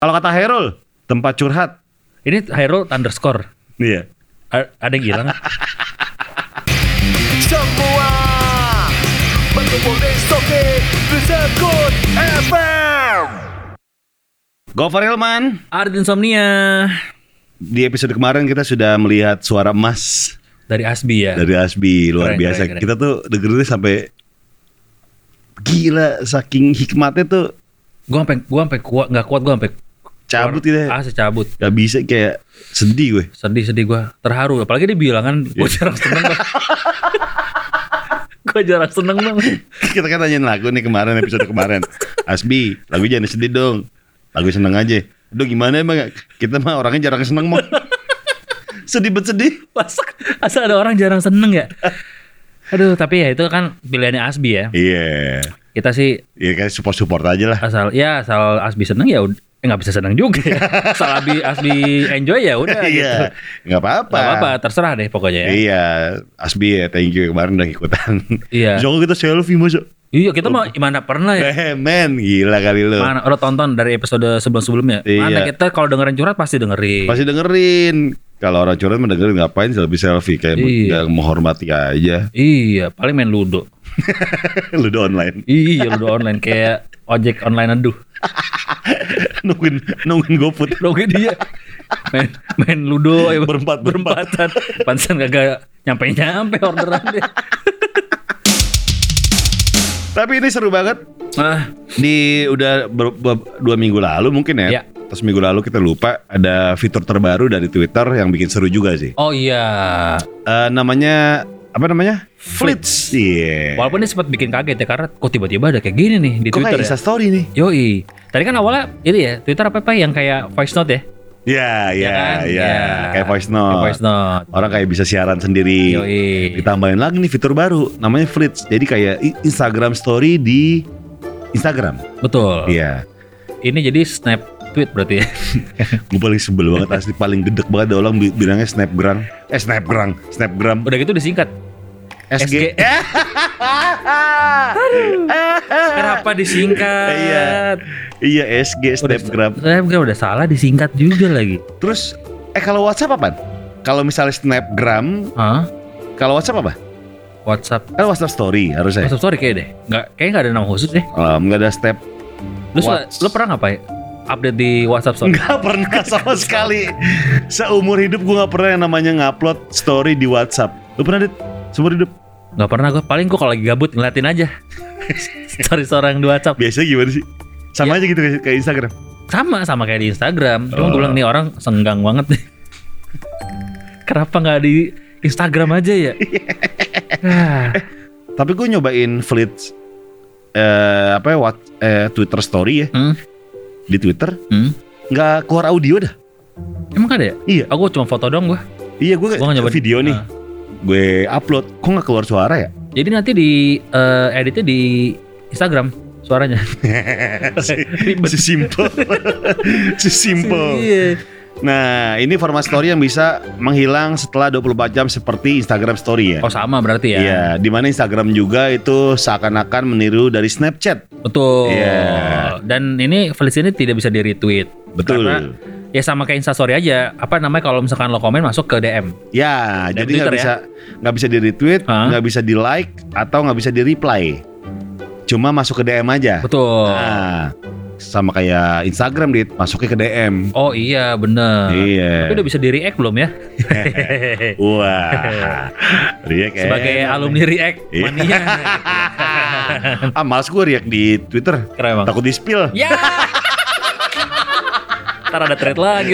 Kalau kata Hairul, tempat curhat. Ini Hairul underscore. Iya. Ada yang hilang. Semua berkumpul di Stoke Sekut FM. Gofar Hilman. Art Insomnia. Di episode kemarin kita sudah melihat suara emas Dari Asbi ya. dari Asbi, luar Keren, biasa. keren. Kita tuh dengerinnya sampai gila, saking hikmatnya tuh Gue sampai kuat, nggak kuat gue sampai cabut gitu ya. Cabut. Gak bisa, kayak sedih gue. Sedih gue, terharu. Apalagi dia bilang kan, gue jarang seneng banget. Gue jarang seneng banget. Kita kan tanyain lagu nih kemarin, episode kemarin. Asbi, lagu jangan sedih dong. Lagu seneng aja. Aduh gimana emang, kita mah orangnya jarang seneng mau. Sedih bet sedih. Asal ada orang jarang seneng ya. Aduh, tapi ya itu kan pilihannya Asbi ya. Iya. Kita sih Iya kayak support aja lah. asal Asbi seneng ya nggak bisa seneng juga ya. Asal Asbi enjoy ya udah gitu. Iya. Gak apa-apa. Gak apa-apa, terserah deh pokoknya ya. Iya. Asbi ya, thank you kemarin udah ikutan. Iya. Jangan kita selfie masa. Iya, kita mah mana pernah ya. Men, gila kali lu. Mana lo tonton dari episode sebelum-sebelumnya. Iya. Mana kita kalau dengerin curhat pasti dengerin. Pasti dengerin. Kalau orang curhat mah dengerin, ngapain selfie kayak Iya. gak menghormati aja. Iya, paling main ludo. Ludo online. Iya, ludo online kayak ojek online aduh. nungguin GoFood. Logi dia. Main ludo ya, Berempatan. Pantesan kagak nyampe orderan deh. Tapi ini seru banget. Ah, Udah 2 minggu lalu mungkin ya. Ya. Terus minggu lalu kita lupa ada fitur terbaru dari Twitter yang bikin seru juga sih. oh iya. Namanya apa namanya? Flits. Iya. Walaupun ini sempat bikin kaget ya karena kok tiba-tiba ada kayak gini nih di Kok Twitter kayak ya. Instastory nih? Yoi. Tadi kan awalnya itu ya Twitter apa yang kayak voice note ya. Iya. kan? Ya. Kayak voice note. Kayak voice note. Orang kayak bisa siaran sendiri. Yoi. Ditambahin lagi nih fitur baru namanya Flits. Jadi kayak Instagram story di Instagram. Betul. Iya. Ini jadi snap tweet berarti ya. Gue paling sebel banget asli, paling gedek banget ada orang bilangnya Snapgram. Snapgram. Udah gitu disingkat. SG. Kenapa disingkat? Iya SG Snapgram. Snapgram udah salah disingkat juga lagi. Terus kalau WhatsApp apa? Kalau misalnya Snapgram, Hah? kalau WhatsApp apa? WhatsApp. Kan WhatsApp Story harusnya. WhatsApp story kayak deh. Kayaknya nggak ada nama khusus deh. Nggak ada step. Lu pernah ngapain? Update di WhatsApp story? Nggak pernah sama sekali. Seumur hidup gue nggak pernah yang namanya ngupload story di WhatsApp. Lu pernah Dit? Seumur hidup? Nggak pernah gue. Paling gue kalau lagi gabut ngeliatin aja. Story orang di WhatsApp. Biasanya gimana sih? Sama aja gitu kayak Instagram. Sama kayak di Instagram. Cuma gue bilang nih orang senggang banget nih. Kenapa nggak di Instagram aja ya? Tapi gue nyobain Flits Twitter Story ya. Di Twitter nggak keluar audio dah. Emang ada ya? Iya. Aku cuma foto doang gue. Iya gue Gua nggak nyobain. video nih. Gue upload, kok nggak keluar suara ya? Jadi nanti di editnya di Instagram suaranya. Sesimpel. Iya. Nah, ini format story yang bisa menghilang setelah 24 jam seperti Instagram story ya. Oh sama berarti ya? Iya, di mana Instagram juga itu seakan-akan meniru dari Snapchat. Betul. Iya. Dan ini Felis ini tidak bisa di retweet. Betul. Karena ya sama kayak Instastory aja. Apa namanya kalau misalkan lo komen masuk ke DM. Ya, Dan jadi Twitter nggak bisa di retweet, Hah? nggak bisa di like atau nggak bisa di reply. Cuma masuk ke DM aja. Betul. Nah, sama kayak Instagram masuknya ke DM. Oh iya bener. Iya. Tapi udah bisa di react belum ya? Wah, React Sebagai alumni react Iya. mania. Males gue react di Twitter. Keren bang. Takut di spill. Ya. Ntar ada thread lagi.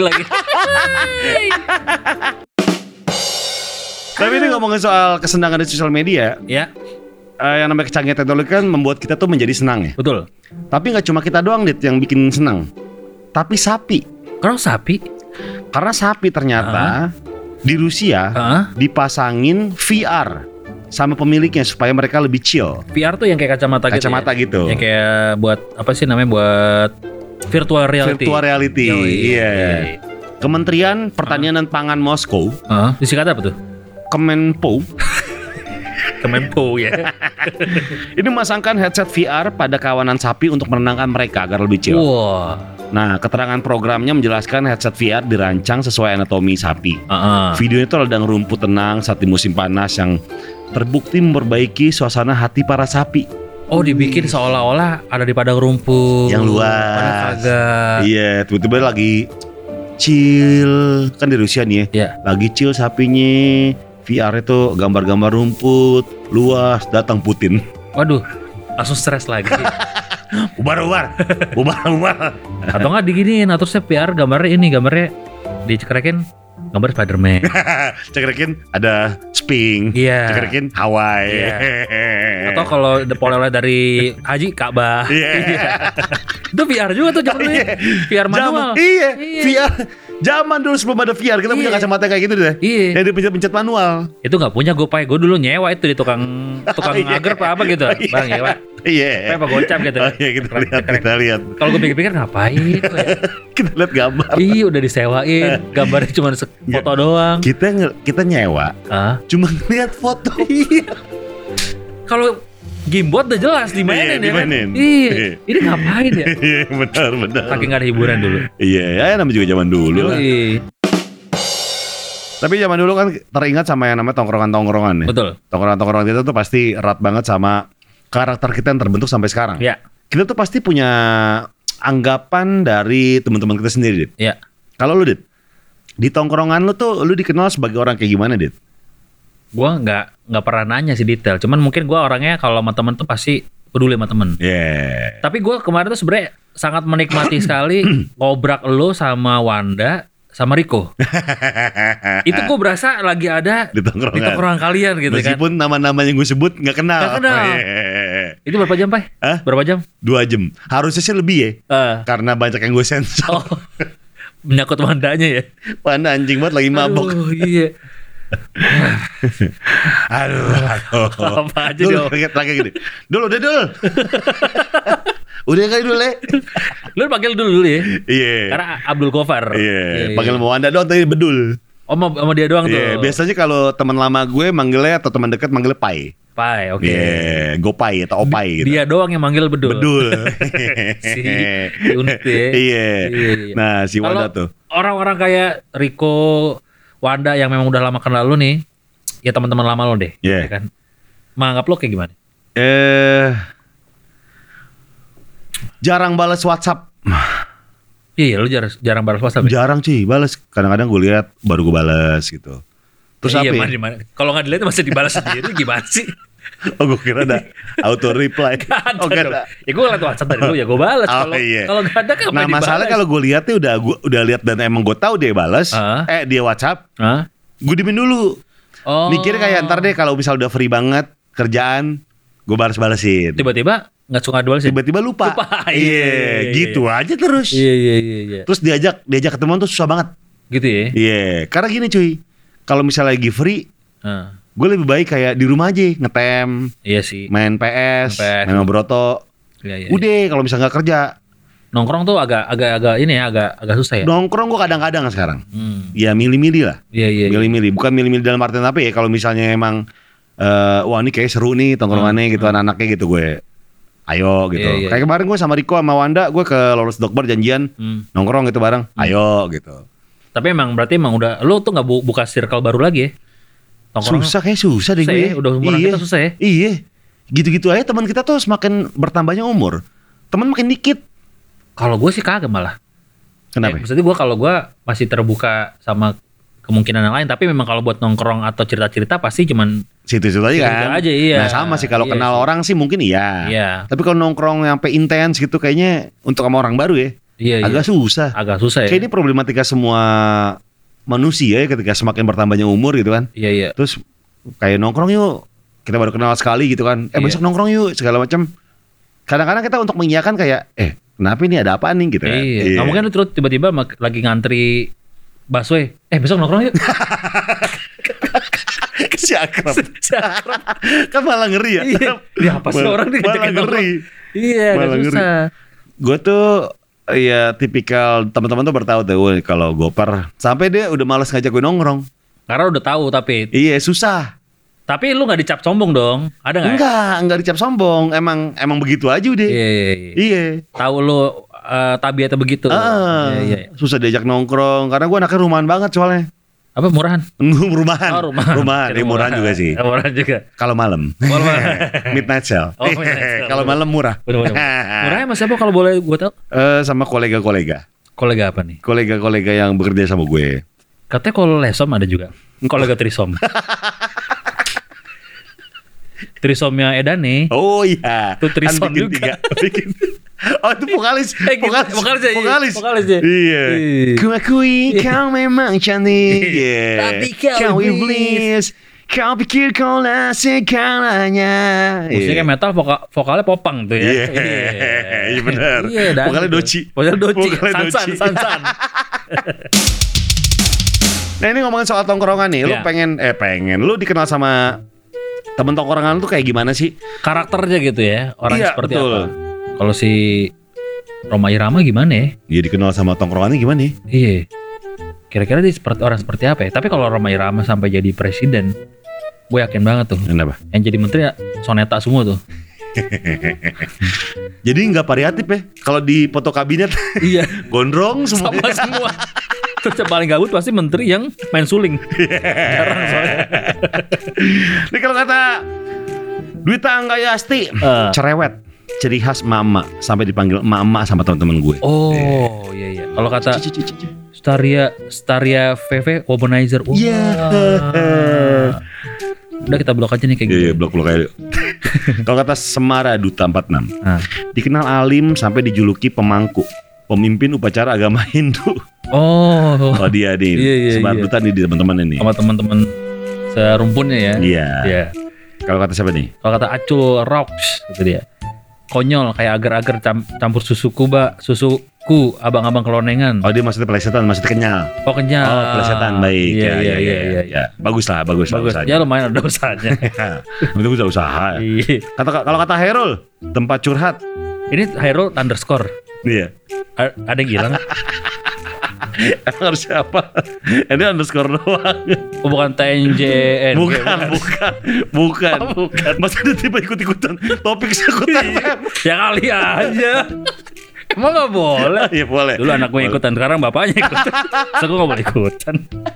Tapi ini ngomongin soal kesenangan di sosial media, Ya, yang namanya kecanggihan teknologi kan membuat kita tuh menjadi senang ya. betul. Tapi nggak cuma kita doang Dit yang bikin senang, tapi sapi. Kalau sapi, Karena sapi ternyata di Rusia dipasangin VR sama pemiliknya supaya mereka lebih chill. VR tuh yang kayak kacamata gitu. Kacamata ya? gitu. Yang kayak buat apa sih namanya buat virtual reality. Virtual reality. Iya. Kementerian Pertanian dan Pangan Moskow, Disingkat apa tuh? Kemenpo, Kemenpo ya. Ini memasangkan headset VR pada kawanan sapi untuk menenangkan mereka agar lebih chill. Wah. Nah, keterangan programnya menjelaskan headset VR dirancang sesuai anatomi sapi. Videonya itu ladang rumput tenang saat di musim panas yang terbukti memperbaiki suasana hati para sapi. Oh, dibikin seolah-olah ada di padang rumput Yang luas. Padahal kagak. Iya, tiba-tiba lagi chill. Kan di Rusia nih ya. Iya. Lagi chill sapinya. VR itu gambar-gambar rumput luas, datang Putin. Waduh, langsung stres lagi. Ubar. Atau nggak diginiin, atau saya VR gambarnya dicekrekin gambar Spiderman. Cekrekin ada Sping. Iya. Cekrekin Hawaii. Iya. Atau kalau oleh dari Haji Ka'bah. Iya. Itu VR juga tuh zaman dulu. Iya. VR manual. Iya. VR. Zaman dulu sebelum ada VR kita punya Iya. kacamata kayak gitu deh. Iya. Yang dipencet-pencet manual. Itu nggak punya gue dulu nyewa itu di tukang agar apa gitu. Iya. Bang nyewa. Iya. Apa gocap gitu. Oh, iya, kita lihat. Kalau gue pikir-pikir ngapain kok ya? Kita lihat gambar. Iya udah disewain, gambarnya cuma foto doang. Kita nyewa. Cuma lihat foto. Kalau Gamebot udah jelas dimainin ya kan? dimainin. Iya. Iya. Ini ngapain ya? Iya, benar. Saking gak ada hiburan dulu. Iya, ya namanya juga zaman dulu lah. Yoi. Tapi zaman dulu kan teringat sama yang namanya tongkrongan-tongkrongan ya. Betul. Tongkrongan-tongkrongan itu tuh pasti erat banget sama karakter kita yang terbentuk sampai sekarang. Ya. Kita tuh pasti punya anggapan dari teman-teman kita sendiri, Dit. Ya. Kalau lu, Dit, di tongkrongan lu tuh lu dikenal sebagai orang kayak gimana, Dit? Gua nggak pernah nanya sih detail. Cuman mungkin gua orangnya kalau sama temen tuh pasti peduli sama temen. Yeah. Tapi gua kemarin tuh sebenarnya sangat menikmati sekali ngobrak lo sama Wanda sama Riko. Itu gua berasa lagi ada Di tongkrongan. kalian gitu kan. Meskipun nama-nama yang gue sebut nggak kenal. Nggak kenal. Yeah. Itu berapa jam, Pak? Hah? Berapa jam? 2 jam. Harusnya sih lebih ya. Karena banyak yang gue sensor. Oh. Menyangkut Wandanya ya. Wanda anjing banget lagi mabok. Aduh, iya. Aduh. Apa aja Dul, dong. lagi gini. Dul. Udah kali dulu ya. Lu panggil dulu ya. Iya. Karena Abdul Gofar. Iya. Panggil sama Wanda doang tadi bedul. Oh, sama dia doang tuh. Iya. Biasanya kalau teman lama gue manggilnya atau teman dekat manggilnya Pai. Pai, oke. Iya. Gopai atau Opai gitu. Dia doang yang manggil bedul. Bedul. Si unik tuh ya. Iya. Nah, si Wanda Kalau tuh. orang-orang kayak Riko, Wanda yang memang udah lama kenal lu nih, ya teman-teman lama lo deh, Iya. ya kan? Menganggap lo kayak gimana? Jarang balas WhatsApp. Iya, lu jarang balas WhatsApp. Ya? Jarang sih balas. Kadang-kadang gue lihat baru gue balas gitu. Terus iya, apa? Ya? mana? Kalau nggak dilihat masih dibalas sendiri gimana sih? Oh, gue kira ada auto reply. Gak ada Oh, gak dong. ada. Ya gue ngeliat WhatsApp dari dulu ya gue balas. Oh, Kalau iya. kalau nggak ada kan Nah, masalahnya kalau gue lihatnya udah lihat dan emang gue tahu dia balas. Dia WhatsApp. Gue diemin dulu. Oh. Mikirnya kayak ntar deh kalau misal udah free banget kerjaan, gue balas-balasin. Tiba-tiba nggak suka dual sih. Tiba-tiba lupa. Iya. Gitu aja terus. Iya. Terus diajak ketemuan tuh susah banget. Gitu ya. Iya, karena gini cuy. Kalau misalnya lagi free, gue lebih baik kayak di rumah aja ngetem, Iya sih. main PS, main sama Broto. Iya. Udah kalau misalnya nggak kerja, Nongkrong tuh agak ini ya, agak susah ya. nongkrong gue kadang-kadang sekarang. Ya milih-milih lah. Iya. Milih-milih, bukan milih-milih dalam artian apa ya? Kalau misalnya emang wah ini kayak seru nih tongkrongannya gitu anak-anaknya gitu gue. Ayo gitu. Iya. Kayak kemarin gue sama Riko sama Wanda, gue ke Lolos Dokbar janjian nongkrong gitu bareng. Ayo gitu. Tapi berarti udah lu tuh nggak buka circle baru lagi ya? Nongkrong Susah deh gue. ya? Udah umuran kita susah ya? Iya. Gitu-gitu aja teman kita tuh semakin bertambahnya umur. Teman makin dikit. Kalau gue sih kagak malah. Kenapa? Maksudnya kalau gue masih terbuka sama kemungkinan yang lain. Tapi memang kalau buat nongkrong atau cerita-cerita pasti cuman Situ-situ aja situ kan. aja, iya. Nah sama sih kalau Iya kenal sih. orang sih mungkin iya. Iya. Tapi kalau nongkrong sampai intens gitu kayaknya untuk sama orang baru ya. Iya. Agak susah. Agak susah ya. Kayak ini problematika semua manusia ya ketika semakin bertambahnya umur gitu kan. Iya. Terus kayak nongkrong yuk. Kita baru kenal sekali gitu kan. Iya. Besok nongkrong yuk segala macam. Kadang-kadang kita untuk mengiyakan kayak kenapa ini ada apaan nih gitu kan. Iya. Nggak mungkin lu terus tiba-tiba lagi ngantri busway. Besok nongkrong yuk. Si akrab. Kan malah ngeri ya. Iya. Ya apa sih orang nih malah ngajakin ngeri. nongkrong? Iya, Malah agak ngeri. susah. Gue tuh ya tipikal teman-teman tuh bertahu tuh kalau Gopar sampai dia udah malas ngajak gue nongkrong. Karena udah tahu tapi Iya susah. Tapi lu nggak dicap sombong dong? Ada nggak? Enggak dicap sombong. Emang begitu aja udah. Iya. Iya. Tahu lu tabiatnya begitu. Iya. Susah diajak nongkrong karena gue anaknya rumahan banget soalnya. Apa murahan? Rumahan. Oh, rumahan. Ini murahan juga sih. Murahan juga. Kalau malam. Midnight sale. Oh, midnight sale. Kalau malam murah. Bener. Murahnya mas siapa kalau boleh gue tahu? Sama kolega-kolega. Kolega apa nih? Kolega-kolega yang bekerja sama gue. Katanya kalau lesom ada juga. Kolega trisom. Trisomnya Edane. Oh iya. Itu trisom bikin juga. Oh itu vokalis. Vokalis ya. Iya. Ku akui kau memang cantik. Tapi kau iblis. Kau pikir kau lah segalanya. Musiknya metal, vokalnya popang tuh ya. Iya benar. Vokalnya Doci. Sansan. Nah ini ngomongin soal tongkrongan nih. Lu pengen lu dikenal sama temen tongkrongan tuh kayak gimana sih? Karakternya gitu ya. Orang seperti betul. apa? Kalau si Rhoma Irama gimana ya? Dia dikenal sama tongkrongannya gimana ya? Iya. Kira-kira dia orang seperti apa ya? Tapi kalau Rhoma Irama sampai jadi presiden, gue yakin banget tuh. Kenapa? Yang jadi menteri ya soneta semua tuh. Jadi nggak variatif ya? Kalau di foto kabinet, Iya. gondrong semua. Sama semua. Terus yang paling gabut pasti menteri yang main suling. Jarang soalnya. Ini kalau kata Dwita Anggayasti, cerewet, ciri khas mama, sampai dipanggil mama sama teman-teman gue. Oh iya. Kalau kata Staria VV womanizer. Iya. Udah kita blok aja nih kayak gitu. Iya, blok aja. Kalau kata Semara Duta 46, dikenal alim sampai dijuluki pemangku, pemimpin upacara agama Hindu. Oh dia nih, Semara Duta nih di teman-teman ini. Sama teman-teman serumpunnya ya. Iya. Kalau kata siapa nih? Kalau kata Acul Rocks gitu dia. Konyol kayak agar-agar campur susuku abang-abang kelonengan. Oh dia maksudnya pelesetan, maksudnya kenyal. Oh kenyal. Oh pelesetan, baik. Iya. Bagus lah usahanya. Ya lumayan ada usahanya. Itu usaha. Iya. Kalau kata Hairul, tempat curhat. Ini Hairul underscore. Iya. Ada yang hilang. Emang harus siapa? Ini underscore doang. Oh, bukan TNJN. Bukan. Masa ada tiba ikut-ikutan topik sekutan FM? Ya kali aja. Emang gak boleh? Iya boleh. Dulu anak gue ikutan, sekarang bapaknya ikutan. So gue gak boleh ikutan.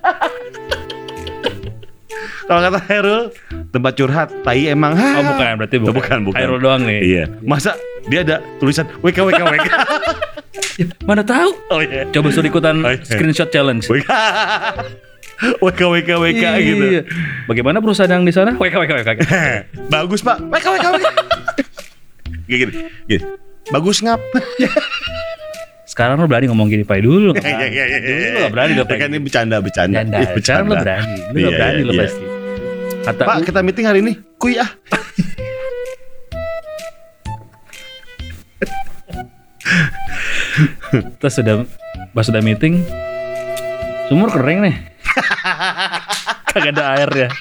Kalau kata Hairul, tempat curhat, tai emang. Oh bukan, berarti bukan. Hairul doang nih. Iya. Masa dia ada tulisan WK. Mana tahu? Oh iya. Coba suruh ikutan screenshot challenge. WK gitu. Iya. Bagaimana perusahaan yang di sana? WK. Bagus Pak. WK. Gini. Bagus ngap. Sekarang lo berani ngomong gini Pak dulu. Iya. Dulu lo gak berani lo Pak. Kan ini bercanda. Sekarang lo berani. Lo gak berani lo pasti. Kata Pak kita meeting hari ini. Kuy ah. Terus sudah meeting, sumur kering nih. Kagak ada air ya.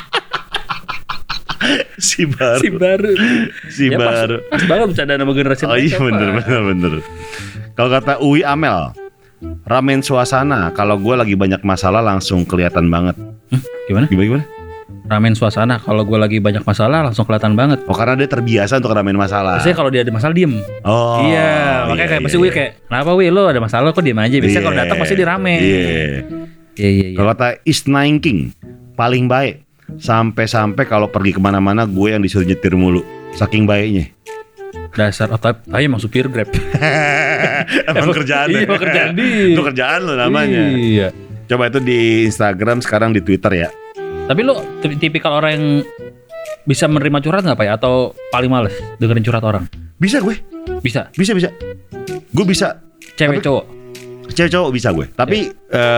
Si baru. Pas banget bercanda sama generasi. Oh iya bener. Kalau kata Uwi Amel, ramen suasana. Kalau gue lagi banyak masalah langsung kelihatan banget. Gimana? Ramen suasana. Kalau gue lagi banyak masalah langsung kelihatan banget. Oh karena dia terbiasa untuk ramen masalah. Biasanya kalau dia ada masalah diem. Oh iya. Makanya kayak pasti Wi kayak, kenapa Wi lo ada masalah kok diem aja. Biasanya kalau datang pasti dia rame. Iya. Kalau kata East Nine King, paling baik. Sampai kalau pergi kemana-mana gue yang disuruh nyetir mulu. Saking baiknya. Dasar tapi emang supir Grab. Emang kerjaan. Iya kerjaan dia. Itu kerjaan lo namanya. Iya. Coba itu di Instagram, sekarang di Twitter ya. Tapi lo tipikal orang yang bisa menerima curhat gak Pak ya? Atau paling males dengerin curhat orang? Bisa gue. Bisa? Bisa. Gue bisa. Cewek cowok? Cewek cowok bisa gue. Tapi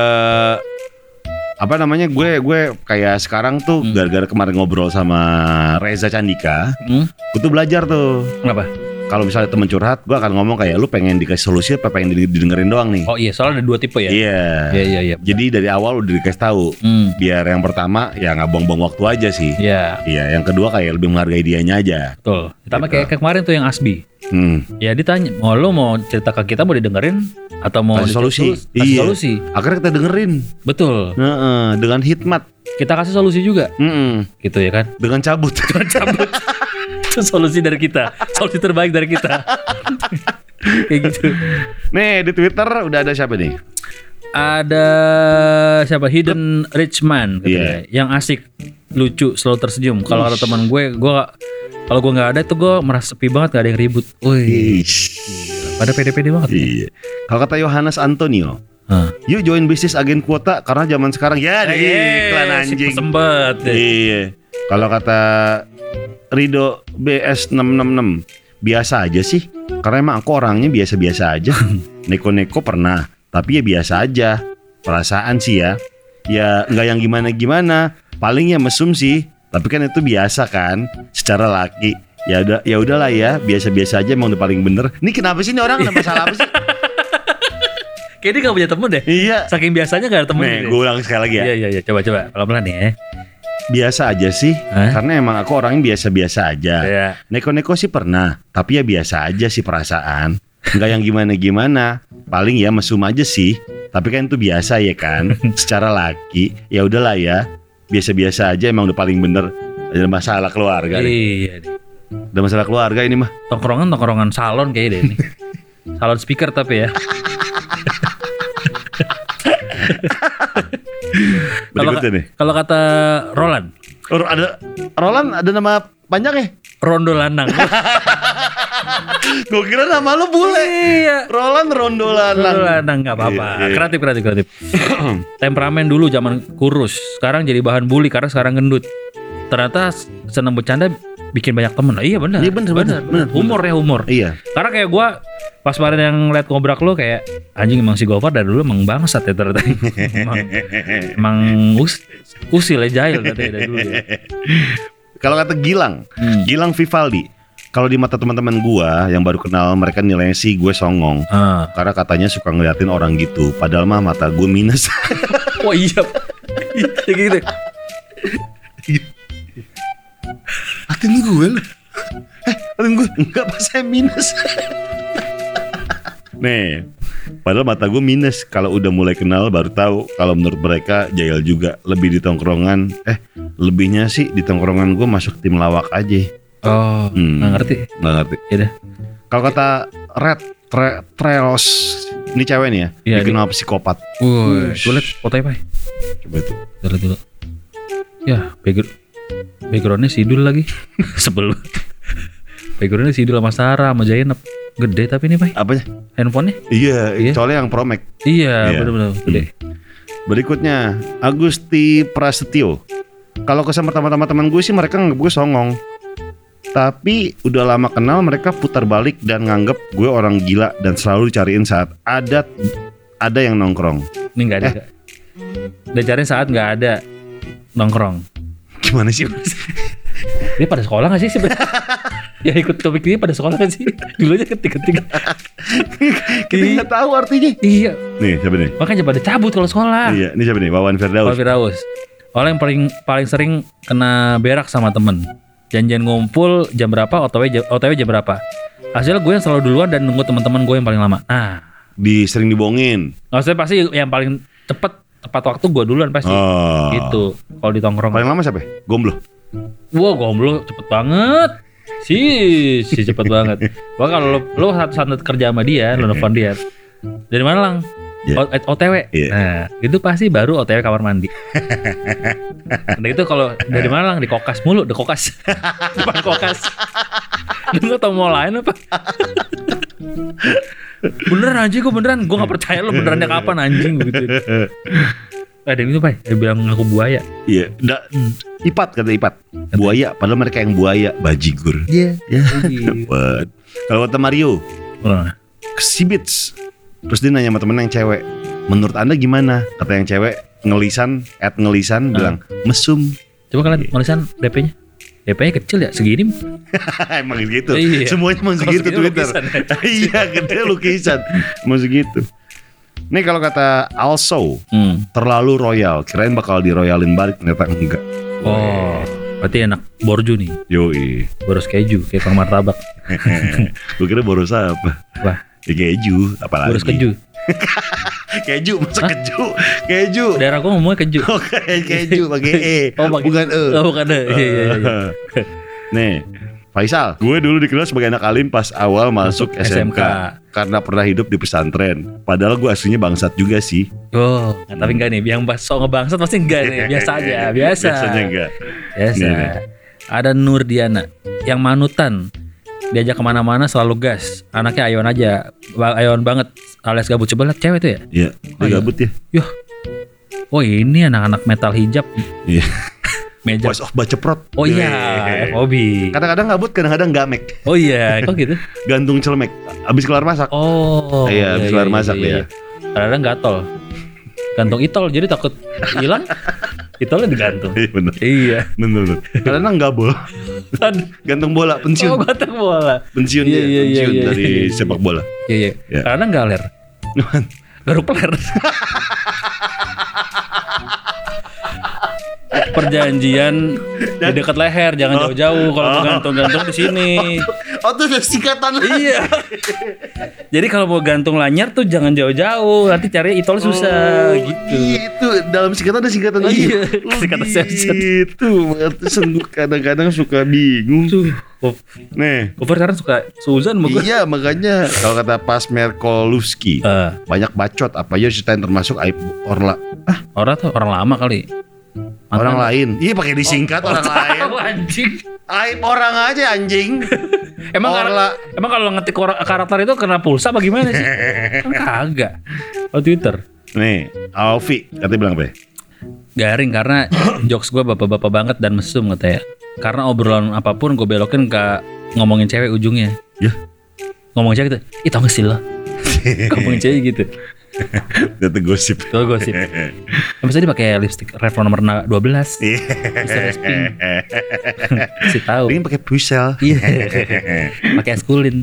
gue kayak sekarang tuh gara-gara kemarin ngobrol sama Reza Candika, gue tuh belajar tuh. Kenapa? Kalau misalnya temen curhat, gue akan ngomong kayak lu pengen dikasih solusi apa pengen didengerin doang nih. Oh iya, soalnya ada dua tipe ya. Iya. Jadi dari awal udah dikasih tahu. Biar yang pertama ya nggak buang-buang waktu aja sih. Iya. Yang kedua kayak lebih menghargai dianya aja. Betul. Pertama gitu. kayak kemarin tuh yang Asbi. Ya ditanya, lu mau cerita ke kita mau didengerin atau mau kasih solusi. Kasih solusi. Akhirnya kita dengerin. Betul. Dengan hikmat. kita kasih solusi juga. Gitu ya kan. Dengan cabut. Cabut. Itu solusi dari kita. Solusi terbaik dari kita. Kayak gitu. Nih di Twitter udah ada siapa nih? Ada siapa? Hidden Richman gitu Iya. ya. Yang asik, lucu, selalu tersenyum. Kalau ada teman gue kalau gue nggak ada tuh gue merasa sepi banget, gak ada yang ribut. Wih, pada pede-pede banget. Iya. Kalau kata Yohanes Antonio, Hah. yuk join bisnis agen kuota karena zaman sekarang ya iklan anjing. Sempet deh. Iya. Kalau kata Rido BS666, biasa aja sih. Karena emang aku orangnya biasa-biasa aja. Neko-neko pernah, tapi ya biasa aja. Perasaan sih ya. Ya nggak yang gimana-gimana. Paling ya mesum sih. Tapi kan itu biasa kan, secara laki. Ya udahlah ya, biasa-biasa aja emang udah paling bener. Ini kenapa sih ini orang ada masalah apa sih? Kayaknya dia gak punya temen deh. Iya. Saking biasanya gak ada temen. Nih, gue ulang sekali lagi ya. Iya. Coba pelan-pelan ya. Biasa aja sih, Hah? karena emang aku orangnya biasa-biasa aja. Iya. Neko-neko sih pernah, tapi ya biasa aja sih perasaan. Nggak yang gimana-gimana. Paling ya mesum aja sih. Tapi kan itu biasa ya kan. Secara laki, ya udahlah ya. Biasa-biasa aja emang udah paling bener. Ada masalah keluarga nih. Iya. Ada masalah keluarga ini mah. Tongkrongan salon kayaknya deh ini. Salon speaker tapi ya. Berikutnya nih. Kalau kata Roland, Roland ada nama panjang ya? Rondo Lanang. Gue kira nama lu bule. Iya. Roland Rondo Rondo Lanang. Lanang nggak apa-apa. Iya. Kreatif. Temperamen dulu zaman kurus, sekarang jadi bahan bully karena sekarang gendut. Ternyata seneng bercanda bikin banyak temen. Iya benar. Iya benar. Humor. Iya. Karena kayak gue pas kemarin yang liat ngobrak lo kayak anjing, emang si Gofar dari dulu emang bangsat ya ternyata. emang usil ya, jahil dari dulu ya. Kalau kata Gilang Vivaldi, kalau di mata teman-teman gua yang baru kenal, mereka nilainya sih gue songong. Karena katanya suka ngeliatin orang gitu. Padahal mah mata gue minus. Oh iya. Gitu. Atin gue loh. Atin gue enggak pas saya minus. Nih, padahal mata gue minus. Kalau udah mulai kenal baru tahu kalau menurut mereka jahil juga. Lebih di tongkrongan, lebihnya sih di tongkrongan gue masuk tim lawak aja. Oh, nggak ngerti. Nggak ngerti. Ya dah. Kalau kata Red Trelos, ini cewek nih ya, Iya, dikenal psikopat. Gue liat fotonya Pak. Coba tuh. Kita lihat dulu. Ya, backgroundnya Sidul lagi. Sebel. Backgroundnya Sidul sama Sarah sama Zainab. Gede tapi ini Pak. Apanya? Handphonenya? Iya, soalnya yang Pro Max. Iya, benar-benar gede. Berikutnya Agusti Prasetyo. Kalau sama teman-teman gue sih mereka nganggap gue songong. Tapi udah lama kenal mereka putar balik dan nganggap gue orang gila dan selalu dicariin saat ada yang nongkrong. Ini nggak ada. Udah cari saat nggak ada nongkrong. Gimana sih? Dia pada sekolah nggak sih sebenarnya? Ya ikut topik ini pada sekolah nggak sih? Dulu aja ketik. Kita nggak tahu artinya. Iya. Nih siapa nih? Makanya pada cabut kalau sekolah. Iya, ini siapa nih? Wawan Firdaus. Firdaus. Orang yang paling sering kena berak sama temen. Janjian ngumpul jam berapa, OTW jam berapa. Hasilnya gue yang selalu duluan dan nunggu teman-teman gue yang paling lama. Nah, Sering dibohongin. maksudnya pasti yang paling tepat waktu gue duluan pasti. Oh. Gitu. Kalau di tongkrong. Paling lama siapa? Gomblo. Wow, gomblo cepet banget. Si cepet banget. Wah kalau lo satu kerja sama dia, lo nelfon dia. Dari mana Lang? Yeah. OTW. Yeah. Nah, itu pasti baru OTW kamar mandi. Nah itu kalau dari mana Lang? Di kokas mulu, di kokas. Depan kokas. Lu gak tau mau lain apa? Beneran anjing, gue gak percaya lo benerannya kapan anjing gitu. Ada yang itu Pak, dia bilang ngaku buaya. Iya, Ipat kata Ipat. Buaya, padahal mereka yang buaya, bajigur. Iya. Ya. Dapat. Kalau kata Mario, Sibits. Terus dia nanya sama temen yang cewek, menurut anda gimana? Kata yang cewek, ngelisan bilang mesum. Coba kalian tulisan DP-nya. DP-nya kecil ya, segini. Emang gitu. Iya. Semuanya emang segitu Segini Twitter. lukisan, ya. Iya, gede lukisan. Emang segitu. Nih kalau kata Also, terlalu royal. Kirain bakal diroyalin balik, ternyata enggak. Oh, berarti enak borju nih. Yoi. Boros keju kayak Kang Martabak. Gue kira boros apa? Wah, Ya keju, apalagi. boros keju. Keju, masa keju. Daerah gue ngomongnya keju. Oh, keju pakai E. Oh, pakai- bukan E. Oh, bukan E. Iya. Nih, Faisal, gue dulu dikenal sebagai anak alim pas awal masuk SMK. SMK. Karena pernah hidup di pesantren. Padahal gue aslinya bangsat juga sih. Oh, tapi enggak nih. Yang sok ngebangsat pasti enggak nih. Biasa aja, biasa. Biasanya enggak. Biasa. Nih. Ada Nurdiana yang manutan. Diajak kemana-mana selalu gas. Anaknya ayon aja. Ayon banget. Alias gabut. Coba lihat cewek itu ya. Iya, dia iya. gabut ya. Yuh. Oh ini anak-anak metal hijab. Iya. Meja. Voice of Baceprot. Oh iya, FOB. Kadang-kadang gabut, kadang-kadang gamek. Oh iya, kok gitu? Gantung celemek. Abis kelar masak. Oh. Iya, habis kelar masak dia. Kadang-kadang gatol. Gantung itol, jadi takut hilang. Itolnya digantung. Iya bener. Iya. Bener. Kadang-kadang gabol. Gantung bola, pensiun. Oh, gantung bola. Pensiun Iya, dia, iya, pensiun iya, dari iya. sepak bola. Iya. Iya. Kadang galer. Garuk peler. Perjanjian di dekat leher, jangan jauh-jauh. Kalau mau gantung-gantung di sini. Oh, itu ada singkatan. Iya. Jadi kalau mau gantung lanyar tuh jangan jauh-jauh. Nanti cari itol susah gitu. Itu dalam singkatan ada singkatan Oh, lagi. iya. Oh, Singkatan Samson. gitu. Sungguh kadang-kadang suka bingung. Nih. Cover sekarang suka Suzan mau gue. Iya, makanya kalau kata Pasmer Kolowski, banyak bacot apa aja ceritain termasuk aib Orang tuh orang lama kali. orang lain. Iya, pakai disingkat orang lain. Oh, anjing. Aib orang aja anjing. Emang emang kalau ngetik karakter itu kena pulsa apa gimana sih? Kan kagak. Oh, Twitter. Nih, Alfi katanya bilang apa? Garing karena jokes gue bapak-bapak banget dan mesum katanya. Karena obrolan apapun gue belokin ke ngomongin cewek ujungnya. Ya. Ngomongin cewek gitu. Ih, tau gak sih lo? Ngomongin cewek gitu. Data gosip. Tuh gosip. Misalnya dia pakai lipstick Revlon nomor 12. Bisa resping. Si tahu. Ini pakai pusel. Iya. Pakai eskulin.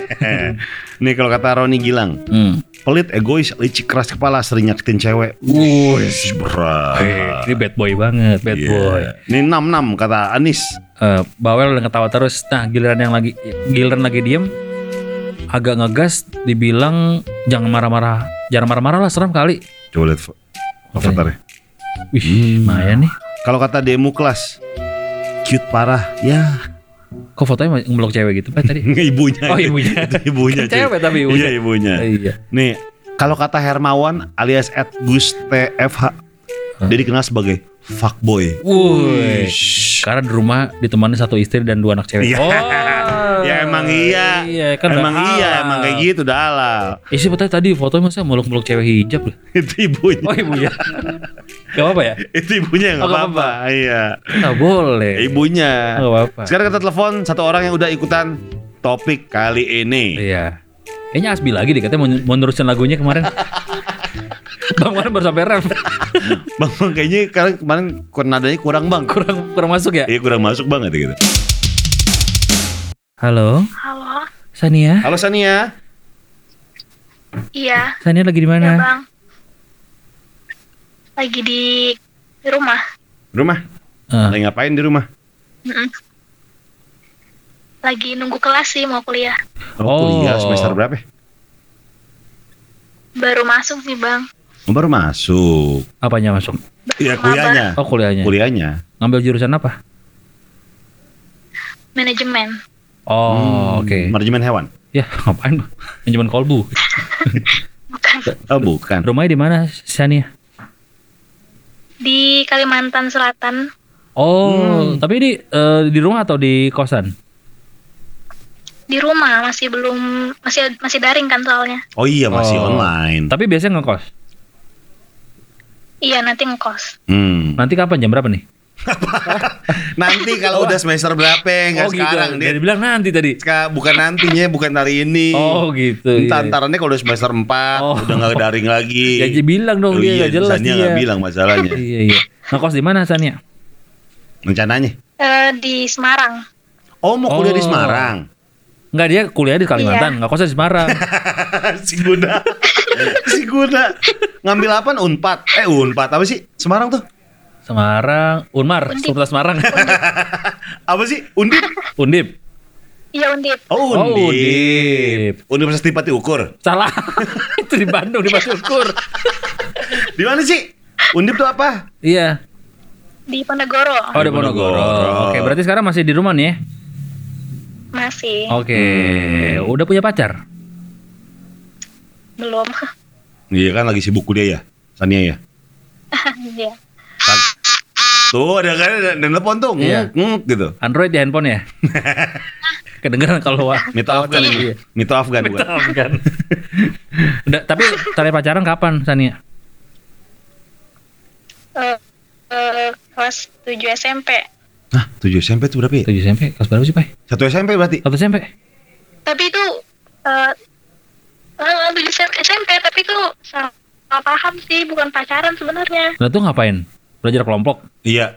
Nih kalau kata Roni Gilang, pelit, egois, licik, keras kepala, sering nyakitin cewek. Wuih, berat. ini bad boy banget, bad boy. Ini 66 kata Anis. Bawel udah ketawa terus. Nah, giliran lagi diem, agak ngegas, dibilang jangan marah-marah lah, seram kali. Coba lihat avatarnya. Wih, lumayan nih. Kalau kata demo kelas, cute parah. Ya. Kok fotonya ngeblok cewek gitu Pak tadi? Ibunya. Oh, ibunya. Itu ibunya. Kan cewek tapi ibunya. Iya, ibunya. Iya. Nih, kalau kata Hermawan alias @gustfh, dia dikenal sebagai fuckboy. Wuih. Karena di rumah ditemani satu istri dan 2 anak cewek. Iya. Oh. Ya emang iya. Iya, kan emang udah iya, halal. emang kayak gitu udah halal. Isi tadi fotonya masa meluk-meluk cewek hijab loh. Itu ibunya. Oh, ibunya. Gak apa-apa ya? Itu ibunya Oh, nggak nggak apa-apa. Iya. Gak boleh. Ibunya. Gak apa-apa. Sekarang kita telepon satu orang yang udah ikutan topik kali ini. Iya. Kayaknya Asbi lagi deh, katanya mau nerusin lagunya kemarin. Bang kemarin baru sampai ref. Bang, kayaknya kemarin nadanya kurang bang. kurang masuk ya? Iya, kurang masuk banget gitu. Halo, Halo, Sania. Halo Sania. iya, Sania lagi di ya mana? bang. Lagi di rumah. Rumah? Lagi ngapain di rumah? Mm-mm. Lagi nunggu kelas sih, mau kuliah. Kuliah semester berapa? Baru masuk sih bang. Baru masuk. Apanya masuk? Iya, kuliahnya. Oh, kuliahnya. Kuliahnya. Ngambil jurusan apa? Manajemen. Oh, oke. Manajemen hewan. Ya, ngapain? Manajemen kolbu. Bukan. Oh, bukan. Rumahnya di mana, Sania? Di Kalimantan Selatan. Oh, tapi ini di rumah atau di kosan? Di rumah, masih daring kan soalnya. Oh iya, masih Oh. online. Tapi biasanya ngekos. Iya, nanti ngekos. Nanti kapan, jam berapa nih? Nanti kalau udah semester berapa, nggak sekarang. Dia bilang nanti tadi. Bukan nantinya, bukan hari ini. Oh gitu. Antarannya kalau udah semester 4 udah nggak daring lagi. Ya bilang dong, dia nggak jelas Sania dia. nggak bilang masalahnya. Iya. Ngekos di mana, Sania? Rencananya? Di Semarang. Oh, mau kuliah di Oh. Semarang. Enggak, dia kuliah di Kalimantan, ngekosnya di Semarang. Si Guna. Si Guna. Ngambil apaan? Unpad. Unpad apa sih? Semarang tuh? Semarang, Unmar, Undip. Universitas Semarang. Apa sih? Undip? Undip. Iya Undip. Oh, Oh, Undip. Universitas Tripati Ukur. Salah. Itu di Bandung, di Batu Ukur. Di mana sih? Undip tuh apa? Iya. Di Ponegoro. Oh, di Ponegoro. Oke, berarti sekarang masih di rumah nih ya? Masih. Oke. Udah punya pacar? Belum. Iya kan lagi sibuk kuliah ya, Sania ya. Iya. Tuh ada kan ada telepon tuh, Iya. gitu. Android di handphone ya? Kedengeran kalau Minta Afgan ini. Minta Afgan bukan. kan. Udah, tapi terakhir pacaran kapan, Sania? Kelas 7 SMP. Nah, 7 SMP tuh berapa ya? 7 SMP, kelas berapa sih, Pak? 1 SMP berarti? 1 SMP? Tapi itu 7 SMP, tapi itu salah paham sih, bukan pacaran sebenarnya. Lah tuh ngapain? Belajar kelompok? Iya.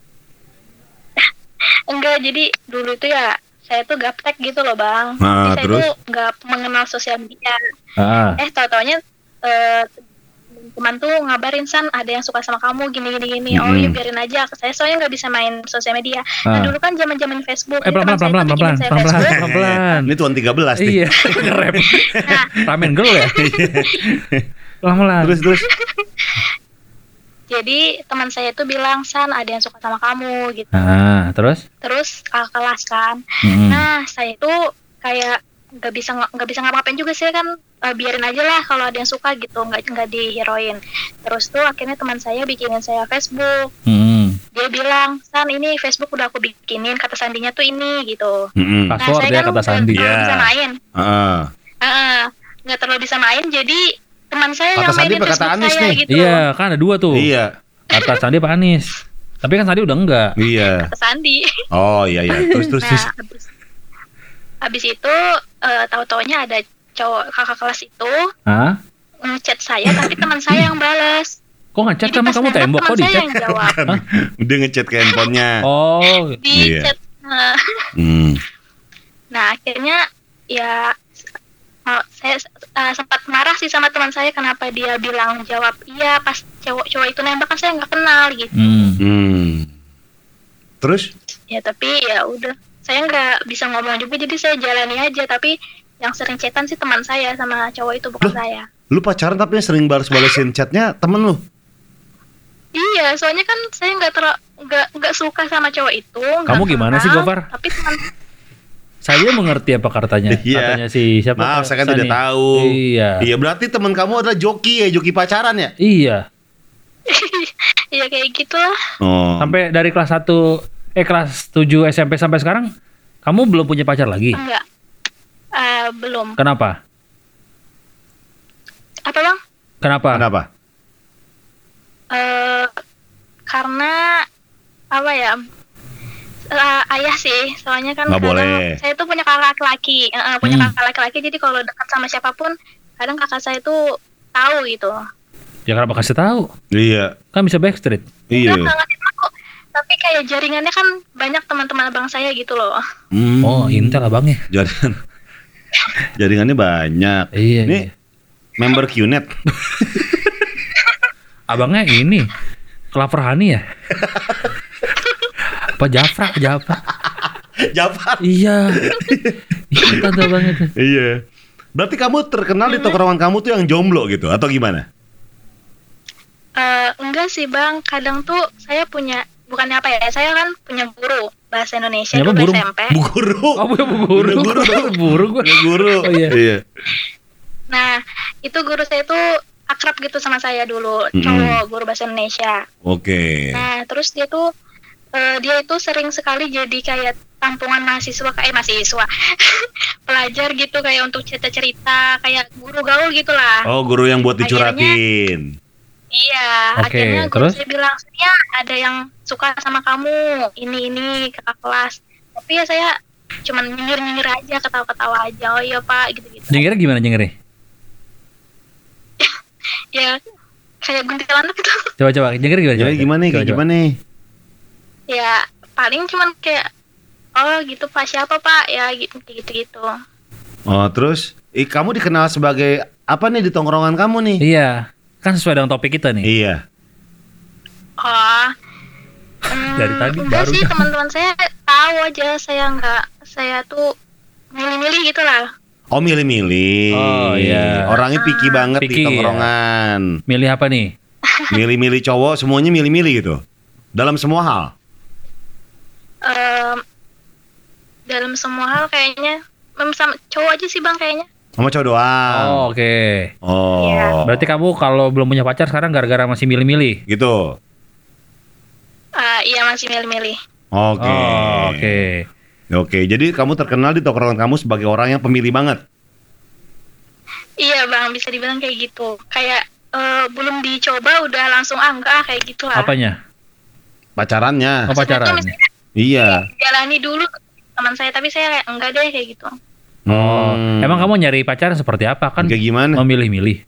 Enggak, jadi dulu itu ya saya tuh gaptek gitu loh bang. Nah, Jadi saya terus? tuh nggak mengenal sosial media. Ah. Tahu-taunya teman tuh ngabarin San ada yang suka sama kamu gini. Oh ya biarin aja. Saya soalnya nggak bisa main sosial media. Nah dulu kan zaman Facebook. Jadi teman saya tuh bikinin saya Facebook. pelan. Ini tuan 13 nih. Iya, nge-rap. Nah, Ramen girl ya? Pelan-pelan. Terus. jadi teman saya tuh bilang San ada yang suka sama kamu gitu. Ah, terus? Terus kakak kelas kan. Hmm. Nah saya tuh kayak nggak bisa ngapa-ngapain juga sih kan, biarin aja lah kalau ada yang suka gitu, nggak dihirauin. Terus tuh akhirnya teman saya bikinin saya Facebook. Hmm. Dia bilang San ini Facebook udah aku bikinin, kata sandinya tuh ini gitu. Mm-mm. Password ya, kata Sandi. nggak terlalu Iya. bisa main. Nggak terlalu bisa main, jadi teman saya Kata yang Sandi mainin apa kata Facebook Anis saya nih? gitu. Iya, kan ada 2 tuh. Iya. Kata Sandi apa Anis? Tapi kan Sandi udah enggak. Iya. Kata Sandi. Oh iya. Terus. Nah, habis itu tahu-taunya ada cowok kakak kelas itu Hah? ngechat saya, tapi teman saya yang balas. Kok ngechat Jadi sama pas kamu nembak, tembok kok teman di saya chat? yang jawab. Hah? Dia ngechat ke handphonenya. Oh, Di Iya. chat. Nah akhirnya ya saya sempat marah sih sama teman saya, kenapa dia bilang jawab iya pas cowok itu nembak, kan saya nggak kenal gitu. Terus? Ya tapi ya udah, saya nggak bisa ngomong juga, jadi saya jalani aja. Tapi yang sering chatan sih teman saya sama cowok itu, bukan Loh? saya. Lu pacaran tapi yang sering balas-balasin chatnya temen lu? Iya, soalnya kan saya nggak suka sama cowok itu. nggak Kamu gimana sih, kenal, Gofar? Tapi teman saya mengerti apa katanya. Iya. Katanya si siapa? Maaf, saya kan Sani. tidak tahu. Iya. Iya, berarti teman kamu adalah joki ya, joki pacaran ya? Iya. ya kayak gitulah. Oh. Sampai dari kelas 1 kelas 7 SMP sampai sekarang kamu belum punya pacar lagi? Enggak. Belum. Kenapa? Apa bang? Kenapa? Karena apa ya? Ayah sih, soalnya kan Nggak kadang boleh. saya tuh punya kakak laki-laki, kakak laki-laki, jadi kalau dekat sama siapapun, kadang kakak saya tuh tahu gitu. Ya kenapa kasih tahu? Iya. Kan bisa backstreet. Iya. Enggak ngasih tahu, tapi kayak jaringannya kan banyak teman-teman abang saya gitu loh. Oh, Intel abangnya. Jaringannya banyak. Iya. Ini iya. member QNet. Abangnya ini Klaver Hani ya? Apa Jafra? Jafar. Iya. Iya tante abangnya tuh. Iya. Berarti kamu terkenal di tongkrongan kamu tuh yang jomblo gitu atau gimana? Enggak sih bang, kadang tuh saya punya, bukannya apa ya, saya kan punya guru bahasa Indonesia Siapa, dulu guru? SMP. Bu guru. Oh, bu guru. Guru. Guru gua. Guru. Oh iya. Iya. Nah itu guru saya tuh akrab gitu sama saya dulu, cowok, guru bahasa Indonesia. Oke. Nah terus dia itu sering sekali jadi kayak tampungan mahasiswa, pelajar gitu, kayak untuk cerita-cerita, kayak guru gaul gitulah. Oh, guru yang buat dicuratin. Iya, Oke, akhirnya guru terus? saya bilang, ya ada yang suka sama kamu, ini kakak kelas. Tapi ya saya cuman nyengir aja, ketawa-ketawa aja. Oh iya pak, gitu-gitu. Nyengirnya gimana nyengirnya? Ya kayak guntilanak gitu. Coba nyengir gimana? Jadi gimana nih? Kayak gimana nih? Ya paling cuman kayak, oh gitu pak, siapa pak, ya gitu. Oh, terus kamu dikenal sebagai apa nih di tongkrongan kamu nih? Iya. Kan sesuai dengan topik kita nih. Iya. Oh, Dari tadi enggak baru. sih, teman-teman saya tahu aja saya tuh milih-milih gitulah. Oh, milih-milih. Oh, iya. Orangnya picky banget Picky, di ya. tongkrongan. Milih apa nih? Milih-milih cowok, semuanya milih-milih gitu. Dalam semua hal. Dalam semua hal kayaknya sama cowok aja sih bang kayaknya. Sama cowok doang. Oh, oke. Oh. Iya. Berarti kamu kalau belum punya pacar sekarang gara-gara masih milih-milih. Gitu. Iya masih milih-milih. Oke. Oh, oke. Oke, jadi kamu terkenal di tongkrongan kamu sebagai orang yang pemilih banget. Iya bang, bisa dibilang kayak gitu. Kayak belum dicoba udah langsung enggak kayak gitu lah. Apanya? Pacarannya. Oh, pacaran. Misalnya Iya. jalani dulu teman saya, tapi saya kayak enggak deh kayak gitu. Oh, emang kamu nyari pacar seperti apa kan? Kayak gimana? Memilih-milih.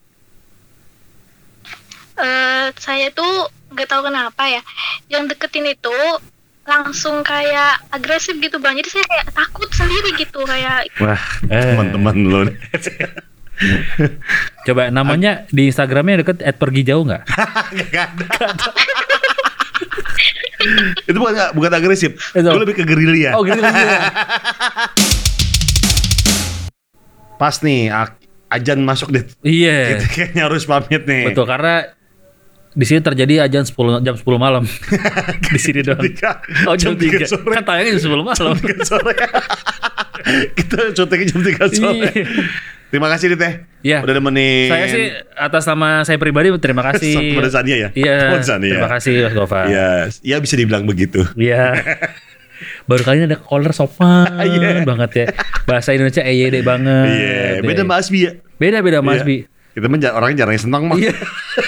Saya tuh nggak tahu kenapa ya, yang deketin itu langsung kayak agresif gitu bang. Jadi saya kayak takut sendiri gitu kayak. Wah, teman-teman lo. Coba namanya di Instagramnya deket @pergijauh nggak? Gak ada. Itu bukan agresif. Itu. Itu lebih ke gerilya. Oh gitu. Pas nih ajan masuk deh. Iya. Kita kayaknya harus pamit nih. Betul, karena di sini terjadi jam 10 malam. Di sini doang. Oh, jam 3 sore. Kan tayangnya jam 10 malam. 3 sore. Kita syutingnya jam 3 sore. Iya. Terima kasih Dit. Iya. Udah nemenin. Saya sih atas nama saya pribadi terima kasih. Kepada Sania ya. Iya. Kepada Sania. Terima kasih Mas Gofar. Iya, ya bisa dibilang begitu. Iya. Baru kali ini ada caller sopan Iya. banget ya. Bahasa Indonesia EYD banget. Iya, beda Mbak Asbi ya. Beda Mas Iya. Bi. Kita orangnya jarang senang mah. Iya.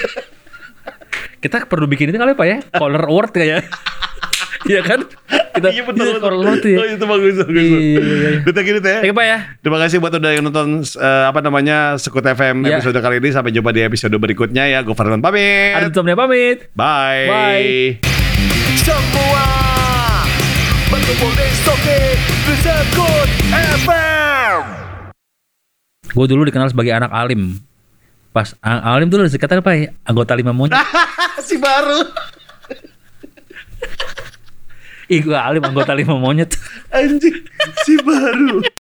Kita perlu bikin ini kali Pak ya? Caller award kayak. Iya kan? Kita Iya betul. caller award ya. Oh, itu bagus. Iya. Kita gini teh. Oke Pak ya. Terima kasih buat udah yang nonton Sekut FM Iya. episode kali ini. Sampai jumpa di episode berikutnya ya. Gofar pamit. Ada tutup pamit. Bye. Bye. Semua berkumpul di Sekut FM. Gue dulu dikenal sebagai anak alim. Pas alim tuh disingkatan apa ya? Anggota 5 monyet. Si baru. Ih gue alim anggota 5 monyet. Anjing, si baru.